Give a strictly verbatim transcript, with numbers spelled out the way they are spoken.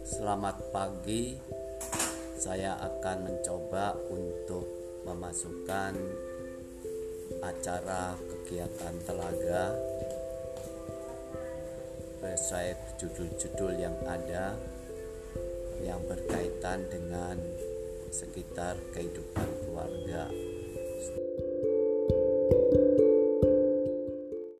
Selamat pagi. Saya akan mencoba untuk memasukkan acara kegiatan telaga sesuai judul-judul yang ada yang berkaitan dengan sekitar kehidupan keluarga.